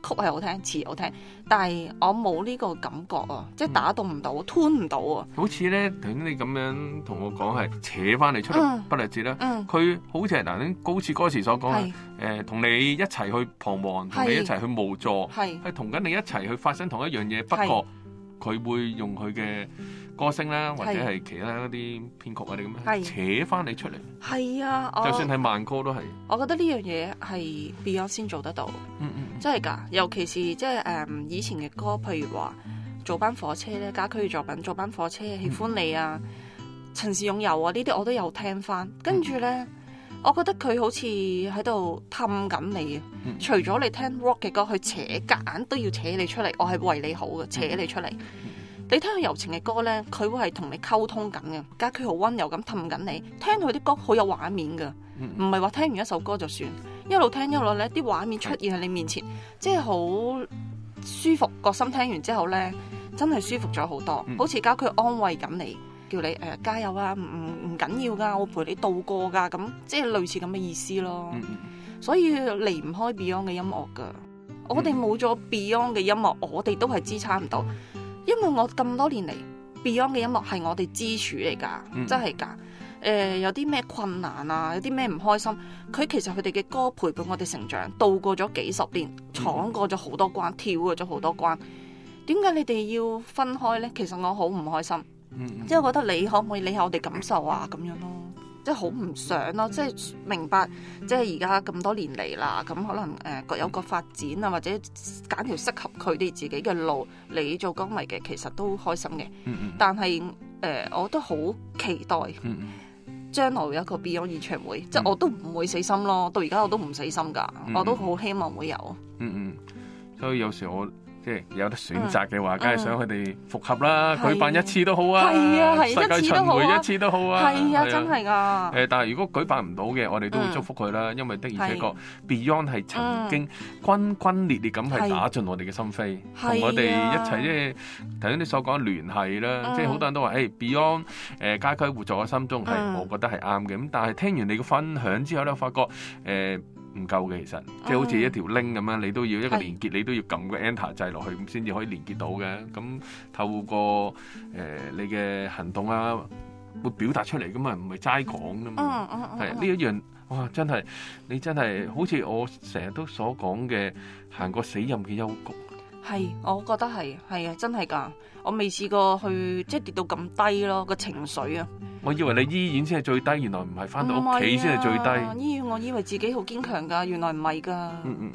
曲係好聽，詞好聽，但係我冇呢個感覺啊，即係打動唔到，吞唔到啊。 好似咧，頭先你咁樣同我講係扯翻你出嚟不勵志啦。佢好似係嗱，好似歌詞所講係同你一齊去彷徨，同你一齊去無助，係同緊你一齊去發生同一樣嘢。不過佢會用佢嘅歌聲啦，或者係其他一啲編曲啊啲咁樣扯翻你出嚟。係啊，就算係慢歌都係。我覺得呢樣嘢係 Beyond 先做得到。真係㗎，尤其是即係以前嘅歌，譬如話做班火車咧，家駒嘅作品做班火車，喜歡你啊，陳氏擁有啊，呢啲我都有聽翻。跟住咧，我覺得佢好似喺度氹緊你啊。除咗你聽 rock 嘅歌，佢扯夾硬都要扯你出嚟，我係為你好嘅，扯你出嚟。你聽佢柔情嘅歌咧，佢會係同你溝通緊嘅，家駒好溫柔咁氹緊你。聽佢啲歌好有畫面㗎，唔係話聽完一首歌就算，一路聽一路咧，啲畫面出現喺你面前，即係好舒服。個心聽完之後咧，真係舒服咗好多，好似家駒安慰緊你，叫你加油啊，唔緊要㗎，我陪你度過㗎，咁即係類似咁嘅意思咯。所以離唔開 Beyond 嘅音樂㗎，我哋冇咗 Beyond 嘅音樂，我哋都係支撐唔到。因為我咁多年嚟 Beyond 嘅音樂係我哋支柱嚟㗎，真係㗎。有啲咩困難啊，有啲咩唔開心，其實佢哋嘅歌陪伴我哋成長，度過咗幾十年，闖過咗好多關，跳過咗好多關。點解你哋要分開呢？其實我好唔開心，即係我覺得你可唔可以理下我哋感受啊？咁樣咯。即係好唔想咯，即係明白，即係而家咁多年嚟啦，咁可能各有各發展啊，或者揀條適合佢哋自己嘅路。你做歌迷嘅其實都開心嘅，但係我都好期待將來有一個 Beyond 演唱會，即係我都唔會死心咯。到而家我都唔死心㗎，我都好希望會有。所以有時我即係有得選擇嘅話，梗係想佢哋復合啦，舉辦一次都好啊，世界巡迴一次都好啊，係啊，真係㗎。但係如果舉辦唔到嘅，我哋都會祝福佢啦，因為的而且確 Beyond 係曾經轟轟烈烈咁係打進我哋嘅心扉，同我哋一齊即係頭先你所講聯繫啦，即係好多人都話Beyond 家駒活在我心中係，我覺得係啱嘅。咁但係聽完你嘅分享之後咧，我發覺唔夠嘅，其實即係好似一條 link 咁樣，你都要一個連結，你都要撳個 enter 掣落去，咁先至可以連結到嘅。咁透過你嘅行動啊，會表達出嚟噶嘛，唔係齋講噶嘛。係呢一樣，哇！真係你真係好似我成日都所講嘅，行過死蔭嘅幽谷。係，我覺得係啊，真係㗎。我未試過去即係跌到咁低咯，個情緒啊。我以為你醫院先係最低，原來唔係，翻到屋企先係最低。醫院我以為自己好堅強㗎，原來唔係㗎。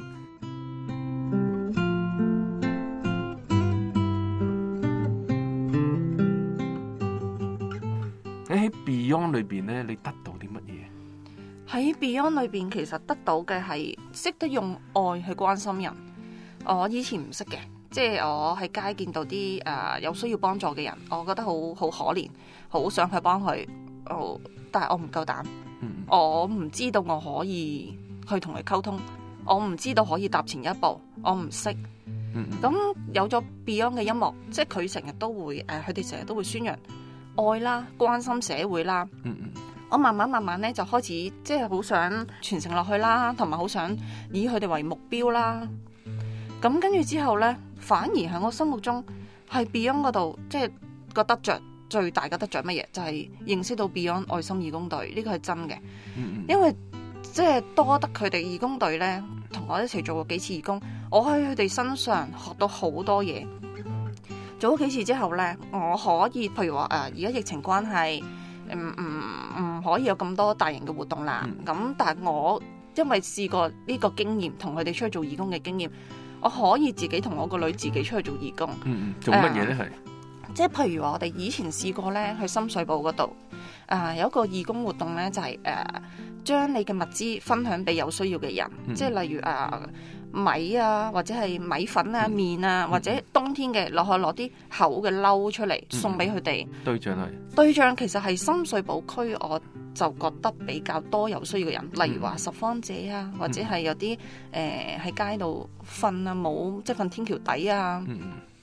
你喺 Beyond 裏邊咧，你得到啲乜嘢？喺 Beyond 裏邊，其實得到嘅係識得用愛去關心人。我以前唔識嘅。即係我喺街見到啲有需要幫助嘅人，我覺得好可憐，好想去幫佢。但係我唔夠膽，我唔知道我可以去同佢溝通，我唔知道可以踏前一步，我唔識。咁有咗 Beyond 嘅音樂，即係佢成日都會佢哋成日都會宣揚愛啦、關心社會啦。我慢慢咧就開始即係好想傳承落去啦，同埋好想以佢哋為目標啦。咁跟住之後咧，反而喺我心目中係 Beyond 嗰度，即係個得着最大嘅得着乜嘢？就係認識到 Beyond 愛心義工隊呢個係真嘅，因為即係多得佢哋義工隊咧，同我一齊做過幾次義工，我喺佢哋身上學到好多嘢。做咗幾次之後咧，我可以譬如話而家疫情關係，唔可以有咁多大型嘅活動啦。咁但係我因為試過呢個經驗，同佢哋出去做義工嘅經驗。我可以自己同我個女自己出去做義工。做乜嘢咧？係即係譬如話，我哋以前試過咧，去深水埗嗰度有一個義工活動咧，就係將你嘅物資分享俾有需要嘅人，即係例如米啊，或者係米粉啊、麵啊，或者冬天嘅攞啲厚嘅褸出嚟送俾佢哋。對象其實係深水埗區，我就覺得比較多有需要嘅人，例如話拾荒者啊，或者係有啲喺街度瞓啊，冇即係瞓天橋底啊，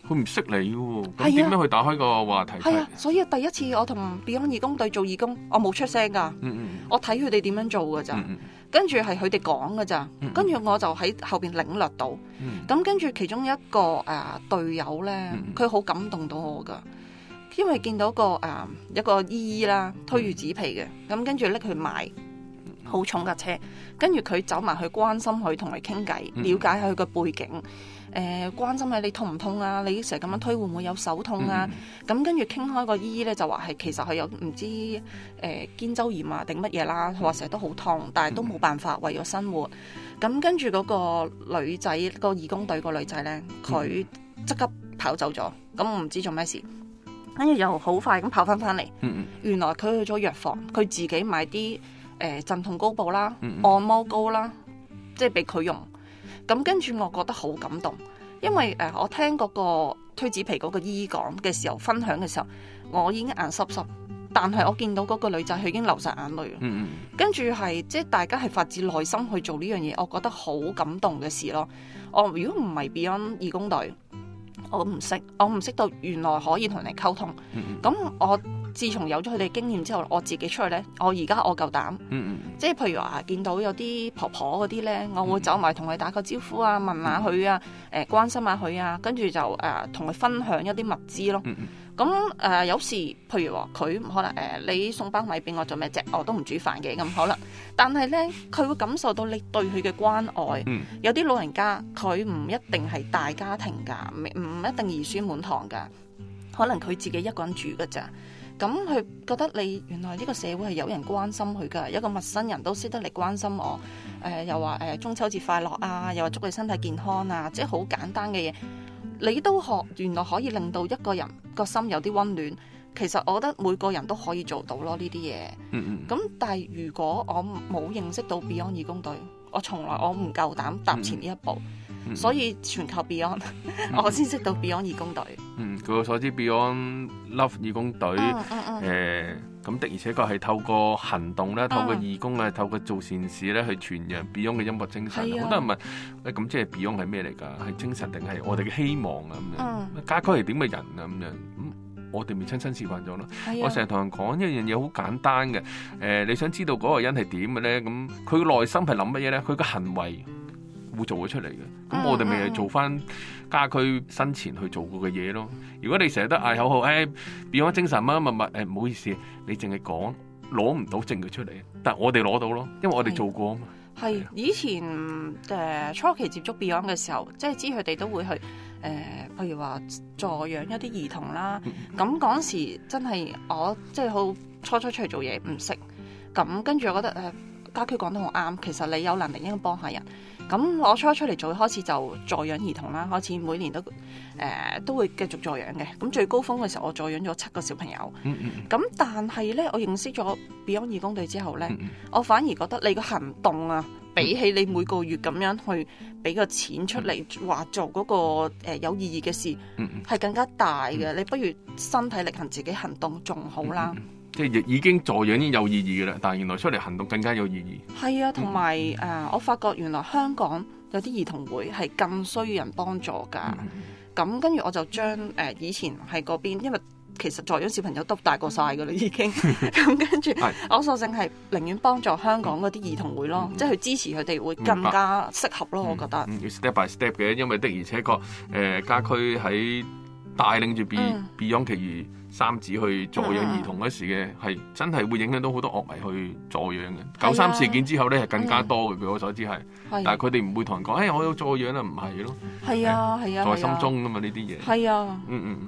佢唔識你嘅喎，咁點樣去打開個話題？ 係啊，所以第一次我同 Beyond 義工隊做義工，我冇出聲㗎，我睇佢哋點樣做㗎咋，跟住係佢哋講㗎咋，跟住我就喺後邊領略到，咁跟住其中一個隊友咧，佢好感動到我㗎。因為見到一個姨姨啦，推住紙皮嘅，咁跟住拎佢賣，好重架車，跟住佢走埋去關心佢，同佢傾偈，了解下佢個背景，關心下你痛唔痛啊？你成日咁樣推會唔會有手痛啊？咁跟住傾開個姨姨咧就話係其實佢有唔知肩周炎啊定乜嘢啦，話成日都好痛，但係都冇辦法為咗生活。咁跟住嗰個女仔，個義工隊個女仔咧，佢即刻跑走咗，咁我唔知做咩事。跟住又好快咁跑翻嚟，原來佢去咗藥房，佢自己買啲鎮痛膏布啦、按摩膏啦，即係俾佢用。咁跟住我覺得好感動，因為我聽嗰個推紙皮嗰個姨姨講嘅時候，分享嘅時候，我已經眼濕濕，但係我見到嗰個女仔佢已經流晒眼淚。跟住係即係大家係發自內心去做呢樣嘢，我覺得好感動嘅事咯。如果唔係 Beyond 義工隊，我唔識到原來可以同人哋溝通。咁我自從有咗佢哋經驗之後，我自己出去咧，我而家我夠膽。即係譬如話見到有啲婆婆嗰啲咧，我會走埋同佢打個招呼啊，問下佢啊，關心下佢啊，跟住就同佢分享一啲物資咯。咁有時譬如話佢可能你送包米俾我做咩啫？我都唔煮飯嘅咁可能，但係咧佢會感受到你對佢嘅關愛。有啲老人家佢唔一定係大家庭㗎，唔一定兒孫滿堂㗎，可能佢自己一個人住㗎咋。咁佢覺得你原來呢個社會係有人關心佢㗎，一個陌生人都識得嚟關心我。又話中秋節快樂啊，又話祝你身體健康啊，即係好簡單嘅嘢。你都原來可以令到一個人個心有啲溫暖，其實我覺得每個人都可以做到咯呢啲嘢。咁但係如果我冇認識到 Beyond 義工隊，我從來我唔夠膽踏前呢一步，所以全靠 Beyond 我先識到 Beyond 義工隊。 據我所知 Beyond Love 義工隊咁的而且確係透過行動咧，透過義工咧，透過做善事咧，去傳揚 Beyond 嘅音樂精神。好多人問咁即係 Beyond 係咩嚟㗎？係精神定係我哋嘅希望啊？咁樣家駒係點嘅人啊？咁樣我哋咪親身示範咗咯。我成日同人講一樣嘢好簡單嘅，你想知道嗰個人係點嘅咧？咁佢嘅內心係諗乜嘢咧？佢嘅行為會做咗出嚟嘅。咁我哋咪係做翻家駒生前去做過嘅嘢咯。如果你成日都嗌口號，Beyond 精神乜乜乜，唔好意思，你淨係講攞唔到證據出嚟，但係我哋攞到咯，因為我哋做過啊嘛。係以前初期接觸 Beyond 嘅時候，即係知佢哋都會去譬如話助養一啲兒童啦。咁嗰時真係我即係好初出嚟做嘢唔識，咁跟住我覺得家駒講得好啱，其實你有能力應該幫下人。咁我初出嚟做開始就助養兒童啦，開始每年都會繼續助養嘅。咁最高峰嘅時候，我助養咗7個小朋友。咁但係咧，我認識咗 Beyond 義工隊之後咧，我反而覺得你個行動啊，比起你每個月咁樣去俾個錢出嚟話做嗰個有意義嘅事，係更加大嘅。你不如身體力行，自己行動仲好啦。 即係已經助養已經有意義嘅啦，但係原來出嚟行動更加有意義。 係啊，同埋我發覺原來香港有啲兒童會係更需要人幫助㗎。咁跟住我就將以前喺嗰邊，因為其實助養小朋友都大過晒㗎啦已經。咁跟住我索性係寧願幫助香港嗰啲兒童會咯，即係去支持佢哋會更加適合咯。我覺得要 step by step 嘅，因為的而且確家駒喺帶領住 Beyond 其餘3子去助養兒童嗰時嘅係真係會影響到好多樂迷去助養嘅。93事件之後咧係更加多嘅，據我所知係，但係佢哋唔會同人講，我有助養啊，唔係咯。係啊，在心中㗎嘛呢啲嘢。係啊。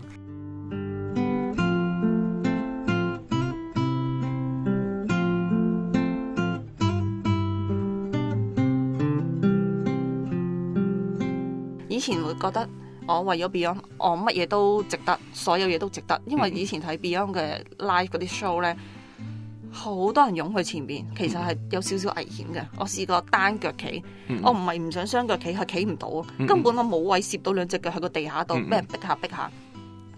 以前會覺得我為咗 Beyond，我乜嘢都值得，所有嘢都值得。因為以前睇 Beyond 嘅 live 嗰啲 show 咧，好多人湧去前邊，其實係有少少危險嘅。我試過單腳企，我唔係唔想雙腳企，係企唔到，根本我冇位攝到2隻腳喺個地下度，俾人逼下逼下。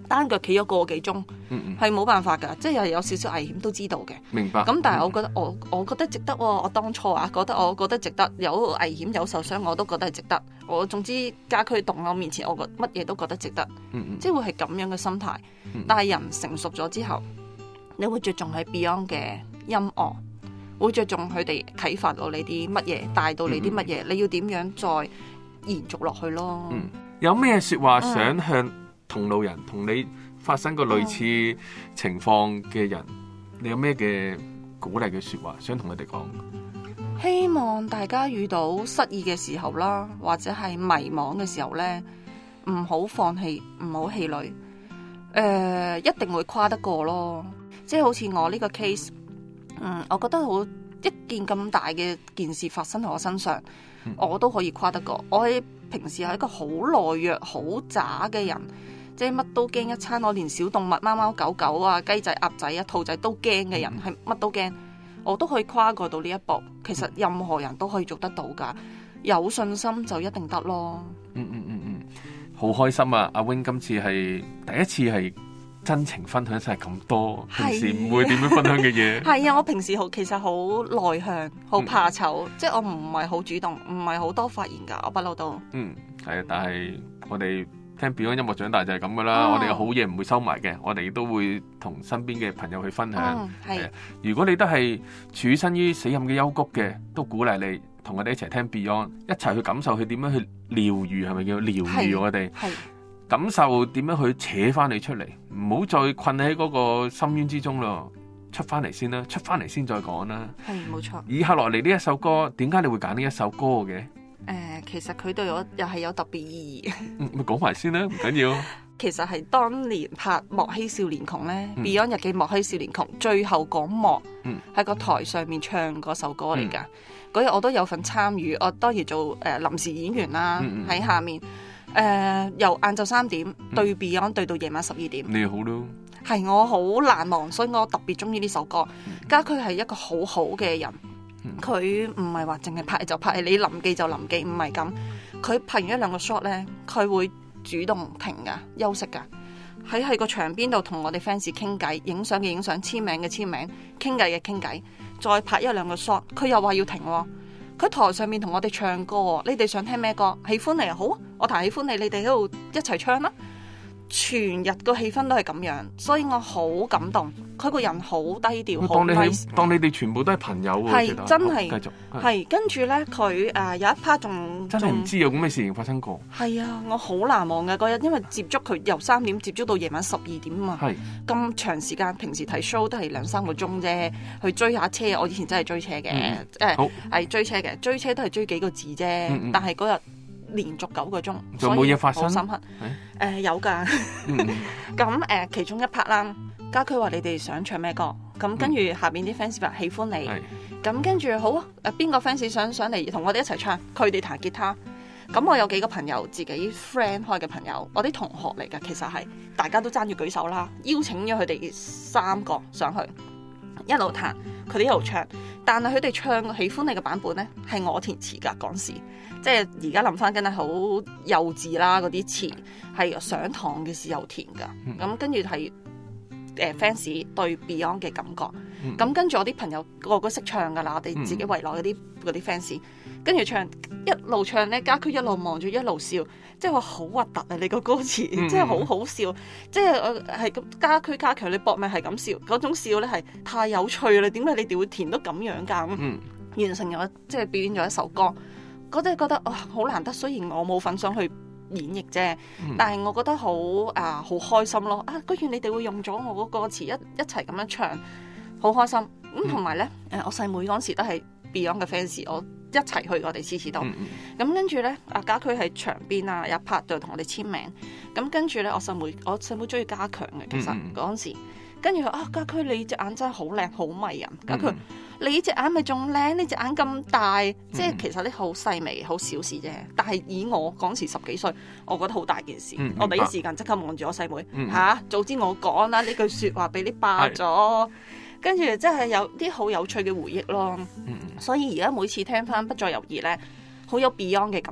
單腳企咗個幾鐘，係冇辦法㗎，即係有少少危險都知道嘅。 明白。 咁但係我覺得值得喎，我當初我覺得值得，有危險有受傷我都覺得係值得。我總之家駒動我面前，我乜嘢都覺得值得，即係會係咁樣嘅心態。但係人成熟咗之後，你會着重喺 Beyond 嘅音樂，會着重佢哋啟發到你啲乜嘢，帶到你啲乜嘢，你要點樣再延續落去咯。 有咩說話想向同路人，同你發生過類似情況嘅人，你有咩嘅鼓勵嘅說話想同佢哋講？ 希望大家遇到失意嘅時候啦，或者係迷茫嘅時候呢，唔好放棄，唔好氣餒，一定會跨得過咯。即係好似我呢個 case，我覺得好一件咁大嘅件事發生喺我身上，我都可以跨得過。我喺平時係一個好懦弱、好渣嘅人，即係乜都驚一餐。我連小動物、貓貓狗狗啊、雞仔、鴨仔啊、兔仔都驚嘅人，係乜都驚。我都可以跨過到呢一步，其實任何人都可以做得到㗎，有信心就一定得咯。 好開心啊！阿 Wing 今次係第一次係真情分享晒咁多，平時唔會點樣分享嘅嘢。係啊，我平時其實好內向，好怕醜，即係我唔係好主動，唔係好多發言㗎，我不嬲都。 係啊，但係我哋聽 Beyond 音樂長大就係咁噶啦，我哋嘅好嘢唔會收埋嘅，我哋都會同身邊嘅朋友去分享。係，如果你都係處身於死蔭嘅幽谷嘅，都鼓勵你同我哋一齊聽 Beyond， 一齊去感受佢點樣去療愈，係咪叫療愈我哋？係，感受點樣去扯翻你出嚟，唔好再困喺嗰個深淵之中咯，出翻嚟先啦，出翻嚟先再講啦。係，冇錯。以下落嚟呢一首歌，點解你會揀呢一首歌嘅？ 其實佢對我又係有特別意義。 咪講埋先啦，唔緊要。 其實係當年拍《莫欺少年窮》咧，Beyond 日記《莫欺少年窮》最後嗰幕，喺個台上面唱嗰首歌嚟㗎。嗰日我都有份參與，我當然做臨時演員啦，喺下面由晏晝3點對 Beyond 對到夜晚12點。 你好咯， 係我好難忘，所以我特別中意呢首歌。家駒係一個好好嘅人。佢唔係話淨係拍就拍，你臨記就臨記，唔係咁。佢拍完1-2個 shot 咧，佢會主動停噶，休息噶，喺個場邊度同我哋 fans 傾偈，影相嘅影相，簽名嘅簽名，傾偈嘅傾偈，再拍1-2個 shot，佢又話要停喎。佢台上面同我哋唱歌，你哋想聽咩歌？喜歡你啊，好，我彈喜歡你，你哋喺度一齊唱啦。全日個氣氛都係咁樣，所以我好感動。佢個人好低調，好 nice。 當你哋全部都係朋友喎， 係真係。 繼續係跟住咧，佢有一 part 仲真係唔知有咁嘅事情發生過。 係啊，我好難忘嘅嗰日，因為接觸佢由3點接觸到夜晚12點啊嘛。係咁長時間，平時睇 show 都係2-3個鐘啫，去追下車。我以前真係追車嘅，係追車嘅，追車都係追幾個字啫。但係嗰日連續9個鐘， 仲冇嘢發生。 好深刻。有㗎。咁其中一 part 啦，家駒話你哋想唱咩歌？咁跟住下邊啲 fans 話喜歡你。咁跟住好啊，邊個 fans 想上嚟同我哋一齊唱？佢哋彈吉他。咁我有幾個朋友自己 friend 開嘅朋友，我啲同學嚟㗎，其實係大家都爭住舉手啦，邀請咗佢哋3個上去，一路彈，佢哋一路唱。但係佢哋唱喜歡你嘅版本呢，係我填詞㗎嗰時。即係而家諗翻，真係好幼稚啦！嗰啲詞係上堂嘅時候填㗎。咁跟住係fans 對 Beyond 嘅感覺。咁跟住我啲朋友個個識唱㗎啦，我哋自己圍內嗰啲 fans，跟住唱一路唱咧，家駒一路望住一路笑，即係話好核突啊！你個歌詞即係好好笑，即係係咁家駒加強你搏命係咁笑，嗰種笑咧係太有趣啦！點解你哋會填到咁樣㗎？完成咗即係表演咗一首歌。我真係覺得好難得，雖然我冇份上去演繹啫，但係我覺得好開心咯！居然你哋會用咗我嗰個歌詞一齊咁樣唱，好開心。咁同埋咧，我細妹嗰時都係 Beyond 嘅 fans， 我一齊去我哋次次都。咁跟住咧，家駒喺場邊啊，有一 part 就同我哋簽名。咁跟住咧，我細妹中意家強嘅，其實嗰陣時。跟住家駒你隻眼真係好靚，好迷人。家駒你隻眼咪仲靚？你隻眼咁大，即係其實啲好細微、好小事啫。但係以我嗰時10幾歲，我覺得好大件事。我第一時間即刻望住我細妹，早知我講啦，呢句説話俾你霸咗。跟住即係有啲好有趣嘅回憶咯。所以而家每次聽翻《不再猶豫》咧，好有 Beyond 嘅感覺。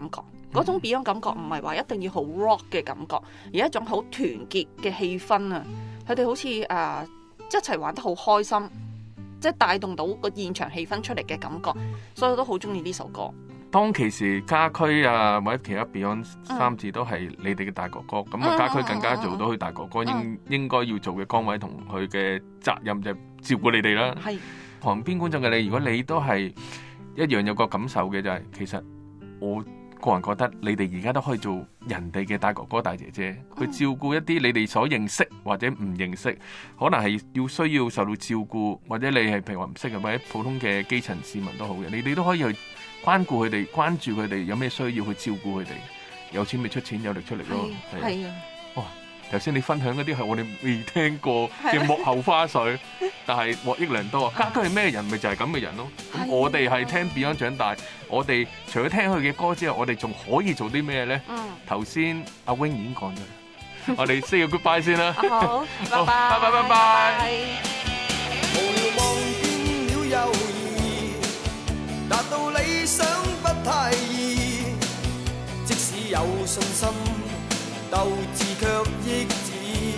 嗰種 Beyond 感覺唔係話一定要好 rock 嘅感覺，而係一種好團結嘅氣氛啊！佢哋好似一齊玩得好開心，即係帶動到個現場氣氛出嚟嘅感覺，所以我都好中意呢首歌。 當其時家駒啊或者其他 Beyond 三字都係你哋嘅大哥哥，咁啊家駒更加做到佢大哥哥應該要做嘅崗位同佢嘅責任就係照顧你哋啦。 係旁邊觀眾嘅你，如果你都係一樣有個感受嘅就係，其實我個人覺得你哋而家都可以做人哋嘅大哥哥大姐姐，去照顧一啲你哋所認識或者唔認識，可能係需要受到照顧，或者你係譬如話唔識嘅或者普通嘅基層市民都好嘅，你哋都可以去關顧佢哋，關注佢哋有咩需要去照顧佢哋，有錢咪出錢，有力出力咯。 係啊！ 哇！頭先你分享嗰啲係我哋未聽過嘅幕後花絮，但係獲益良多啊！家駒係咩人？咪就係咁嘅人咯。咁我哋係聽 Beyond 長大，我哋除咗聽佢嘅歌之後，我哋仲可以做啲咩咧？頭先阿 Wing 已經講咗啦，我哋 say 個 goodbye 先啦。 好，拜拜， 拜拜，拜拜。 無聊望見了友誼，達到理想不太易，即使有信心，鬥志卻抑止。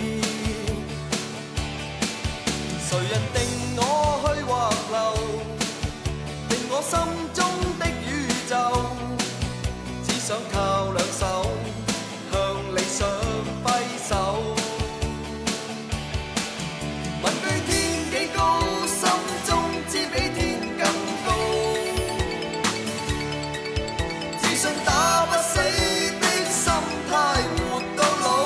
誰人定我去或留，定我心中的宇宙，只想靠兩手向理想揮手。問句天幾高，心中知比天更高，自信打不死的心態活到老。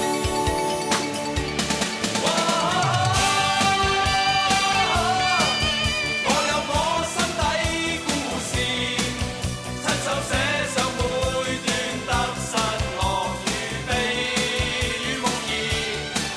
我有我心底故事，親手寫上每段得失樂與悲與夢兒。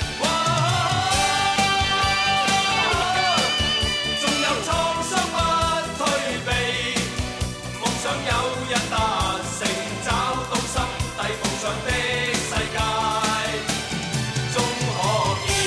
縱有創傷不退避，夢想有日達成，找到心底夢想的世界，終可見。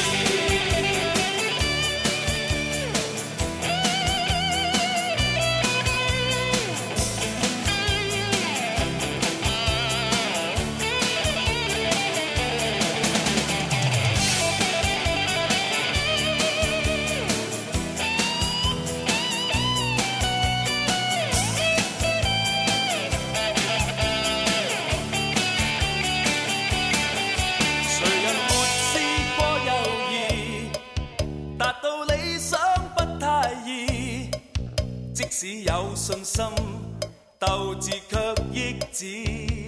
誰人沒試過猶豫，達到理想不太易，即使有信心，鬥志卻抑止。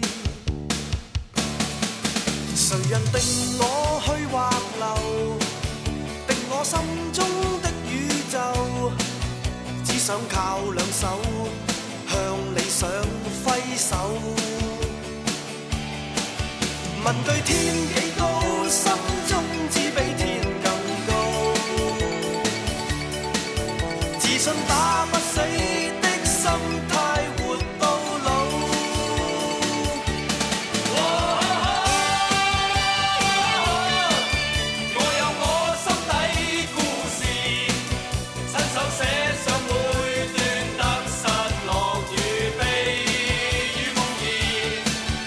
誰人定我去或留，定我心中的宇宙，只想靠兩手向理想揮手。問句天幾高，心中只比天更高，自信打不死的心態活到老。我有我心底故事，親手寫上每段得失樂與悲與夢兒。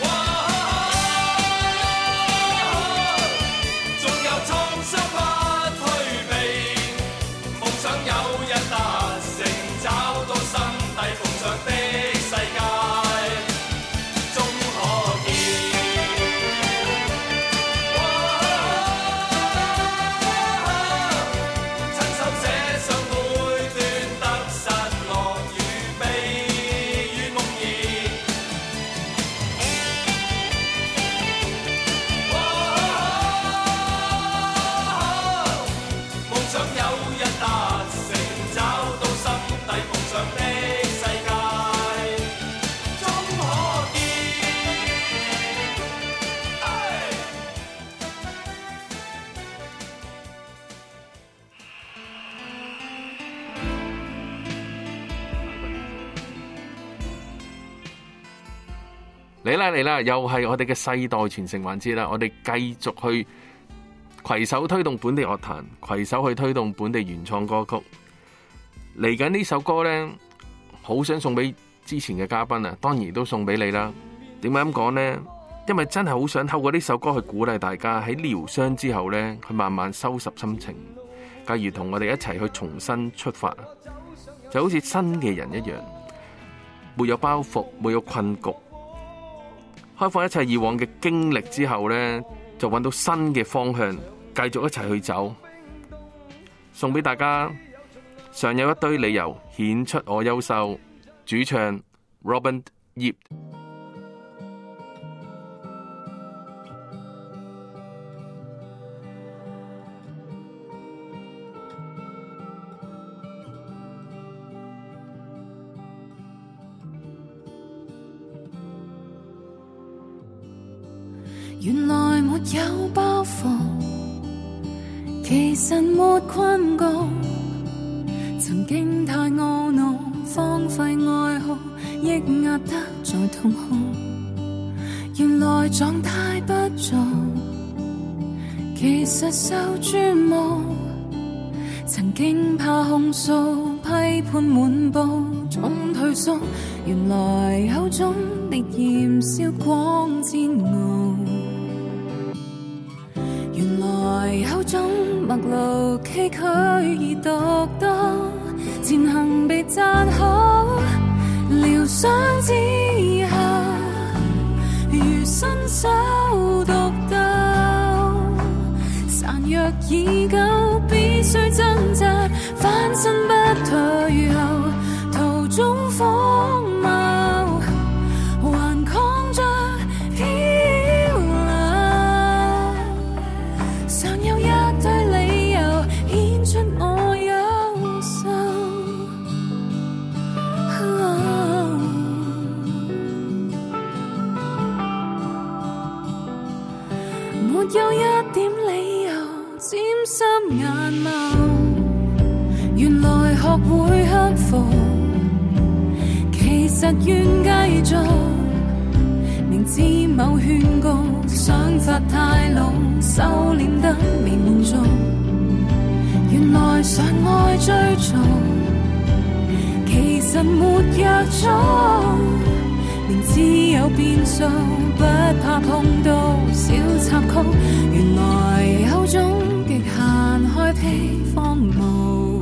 縱有創傷不退避，夢想有日達成，找到心底夢想的世界，終可見。親手寫上每段得失樂與悲與夢兒。夢想有日達成，找到心底夢想的世界，終可見。 嚟啦嚟啦，又係我哋嘅世代傳承環節啦！我哋繼續去攜手推動本地樂壇，攜手去推動本地原創歌曲。嚟緊呢首歌呢，好想送俾之前嘅嘉賓啊，當然都送俾你啦。 點解咁講呢？因為真係好想透過呢首歌去鼓勵大家喺療傷之後呢，去慢慢收拾心情，繼而同我哋一齊去重新出發，就好似新嘅人一樣，沒有包袱，沒有困局，開放一切以往嘅經歷之後呢，就揾到新嘅方向，繼續一齊去走。送俾大家，尚有一堆理由顯出我優秀，主唱 Robin Yip。 原來沒有包袱，其實沒困局，曾經太懊惱，荒廢愛好，抑壓得再痛哭。原來狀態不俗，其實受注目，曾經怕控訴，批判滿布，總退縮。原來有種烈焰燒光煎熬，原來有種陌路崎嶇而獨到，前行被讚好，療傷之後如新手獨鬥，孱弱已久，必須掙扎，翻身不退後，途中荒謬，還抗着漂流，常有一堆理由顯出我優秀，沒有一點理由沾濕眼眸，原來學會克服，其實願繼續，明知某勸告，想法太老，收斂得未滿足，原來常愛追逐，其實沒約束，明知有變數，不怕碰到小插曲，原來有種極限開闢荒蕪，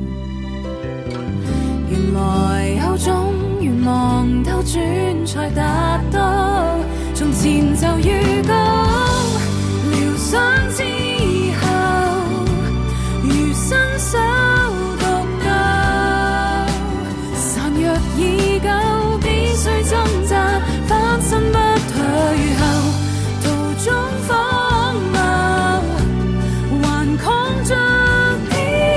原來有種願望兜轉才達到，從前就預告，療傷之後如新手獨鬥，孱弱已久，必須掙扎，翻身不退後，途中荒謬，還抗着漂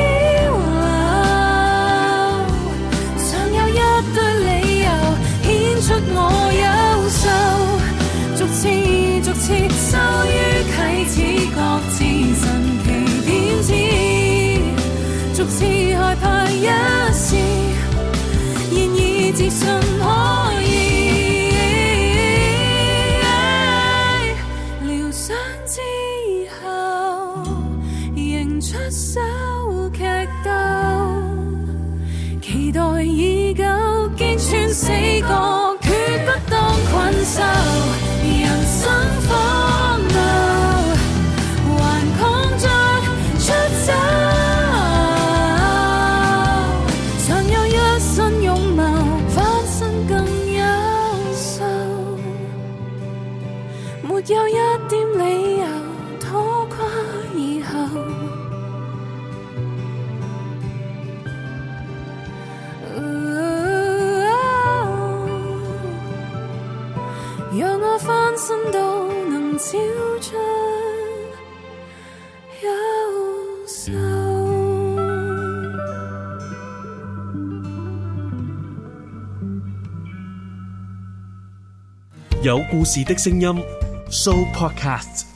流，常有一堆理由顯出我優秀，逐次收於啟齒，各自神奇點知，逐次害怕一試，然而自信可以。療傷之後，仍出手劇鬥，期待已久，擊穿死角，決不當困獸。人生荒謬，還抗着出走，常有一身勇謀，翻身更優秀，沒有一點理由拖垮以後。讓我翻身都能超出優秀。 有故事的聲音 Show Podcast。